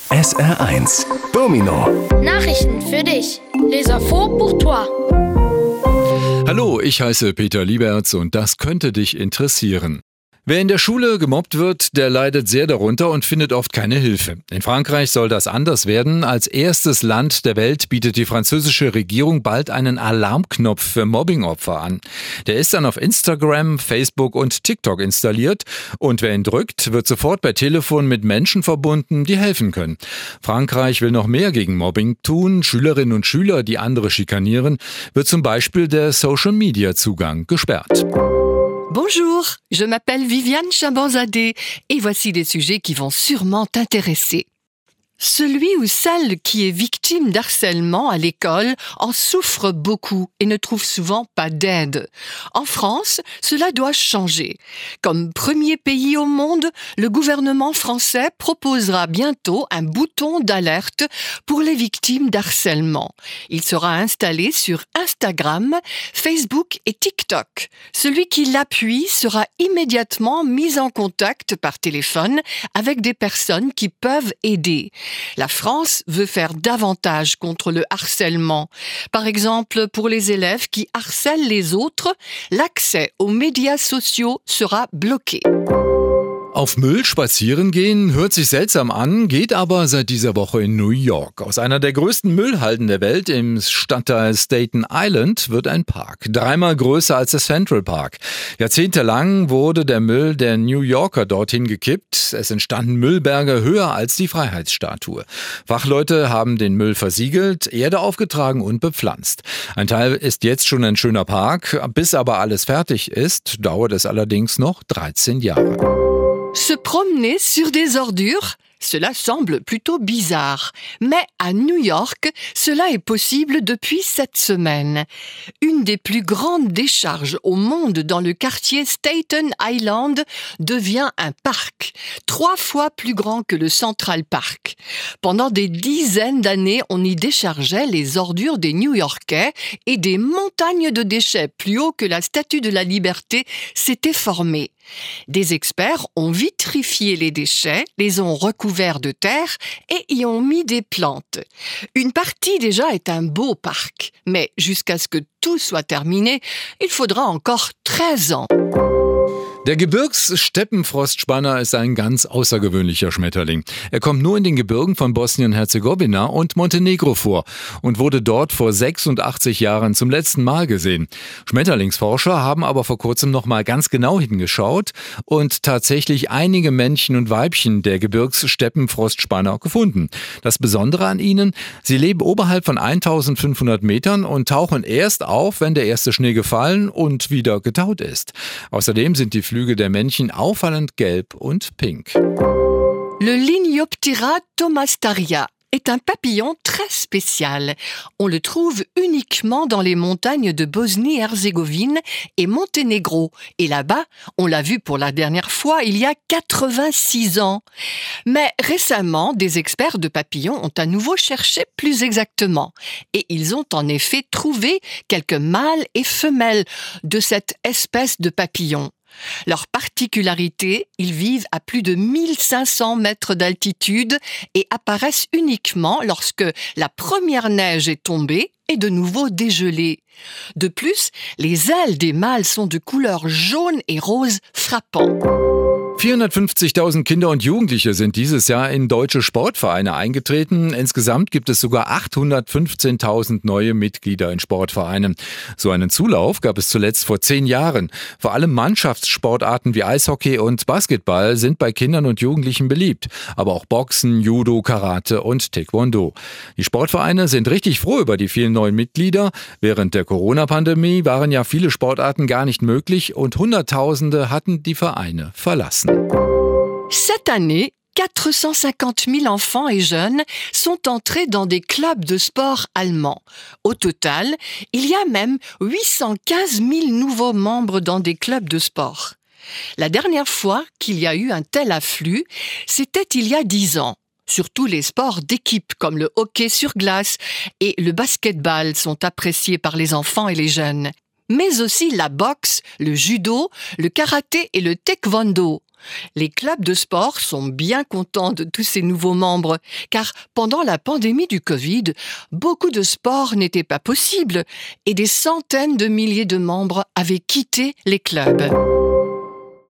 SR1 Domino. Nachrichten für dich. Les infos pour toi. Hallo, ich heiße Peter Lieberts und das könnte dich interessieren. Wer in der Schule gemobbt wird, der leidet sehr darunter und findet oft keine Hilfe. In Frankreich soll das anders werden. Als erstes Land der Welt bietet die französische Regierung bald einen Alarmknopf für Mobbingopfer an. Der ist dann auf Instagram, Facebook und TikTok installiert und wer ihn drückt, wird sofort per Telefon mit Menschen verbunden, die helfen können. Frankreich will noch mehr gegen Mobbing tun. Schülerinnen und Schüler, die andere schikanieren, wird zum Beispiel der Social-Media-Zugang gesperrt. Bonjour, je m'appelle Viviane Chabanzadeh et voici des sujets qui vont sûrement t'intéresser. Celui ou celle qui est victime d'harcèlement à l'école en souffre beaucoup et ne trouve souvent pas d'aide. En France, cela doit changer. Comme premier pays au monde, le gouvernement français proposera bientôt un bouton d'alerte pour les victimes d'harcèlement. Il sera installé sur Instagram, Facebook et TikTok. Celui qui l'appuie sera immédiatement mis en contact par téléphone avec des personnes qui peuvent aider. La France veut faire davantage contre le harcèlement. Par exemple, pour les élèves qui harcèlent les autres, l'accès aux médias sociaux sera bloqué. Auf Müll spazieren gehen hört sich seltsam an, geht aber seit dieser Woche in New York. Aus einer der größten Müllhalden der Welt im Stadtteil Staten Island wird ein Park. 3-mal größer als der Central Park. Jahrzehntelang wurde der Müll der New Yorker dorthin gekippt. Es entstanden Müllberge höher als die Freiheitsstatue. Fachleute haben den Müll versiegelt, Erde aufgetragen und bepflanzt. Ein Teil ist jetzt schon ein schöner Park. Bis aber alles fertig ist, dauert es allerdings noch 13 Jahre. Se promener sur des ordures, cela semble plutôt bizarre. Mais à New York, cela est possible depuis cette semaine. Une des plus grandes décharges au monde dans le quartier Staten Island devient un parc, 3 fois plus grand que le Central Park. Pendant des dizaines d'années, on y déchargeait les ordures des New-Yorkais et des montagnes de déchets plus haut que la Statue de la Liberté s'étaient formées. Des experts ont vitrifié les déchets, les ont recouverts de terre et y ont mis des plantes. Une partie déjà est un beau parc, mais jusqu'à ce que tout soit terminé, il faudra encore 13 ans. Der Gebirgssteppenfrostspanner ist ein ganz außergewöhnlicher Schmetterling. Er kommt nur in den Gebirgen von Bosnien-Herzegowina und Montenegro vor und wurde dort vor 86 Jahren zum letzten Mal gesehen. Schmetterlingsforscher haben aber vor kurzem noch mal ganz genau hingeschaut und tatsächlich einige Männchen und Weibchen der Gebirgssteppenfrostspanner gefunden. Das Besondere an ihnen, sie leben oberhalb von 1500 Metern und tauchen erst auf, wenn der erste Schnee gefallen und wieder getaut ist. Außerdem sind die Flügel der Männchen auffallend gelb und pink. Le Linioptera thomastaria est un papillon très spécial. On le trouve uniquement dans les montagnes de Bosnie-Herzégovine et Monténégro. Et là-bas, on l'a vu pour la dernière fois il y a 86 ans. Mais récemment, des experts de papillons ont à nouveau cherché plus exactement. Et ils ont en effet trouvé quelques mâles et femelles de cette espèce de papillon. Leur particularité, ils vivent à plus de 1500 mètres d'altitude et apparaissent uniquement lorsque la première neige est tombée et de nouveau dégelée. De plus, les ailes des mâles sont de couleur jaune et rose frappant. 450.000 Kinder und Jugendliche sind dieses Jahr in deutsche Sportvereine eingetreten. Insgesamt gibt es sogar 815.000 neue Mitglieder in Sportvereinen. So einen Zulauf gab es zuletzt vor 10 Jahren. Vor allem Mannschaftssportarten wie Eishockey und Basketball sind bei Kindern und Jugendlichen beliebt. Aber auch Boxen, Judo, Karate und Taekwondo. Die Sportvereine sind richtig froh über die vielen neuen Mitglieder. Während der Corona-Pandemie waren ja viele Sportarten gar nicht möglich und Hunderttausende hatten die Vereine verlassen. Cette année, 450 000 enfants et jeunes sont entrés dans des clubs de sport allemands. Au total, il y a même 815 000 nouveaux membres dans des clubs de sport. La dernière fois qu'il y a eu un tel afflux, c'était il y a 10 ans. Surtout les sports d'équipe comme le hockey sur glace et le basketball sont appréciés par les enfants et les jeunes. Mais aussi la boxe, le judo, le karaté et le taekwondo. Les clubs de sport sont bien contents de tous ces nouveaux membres, car pendant la pandémie du Covid, beaucoup de sports n'étaient pas possibles et des centaines de milliers de membres avaient quitté les clubs.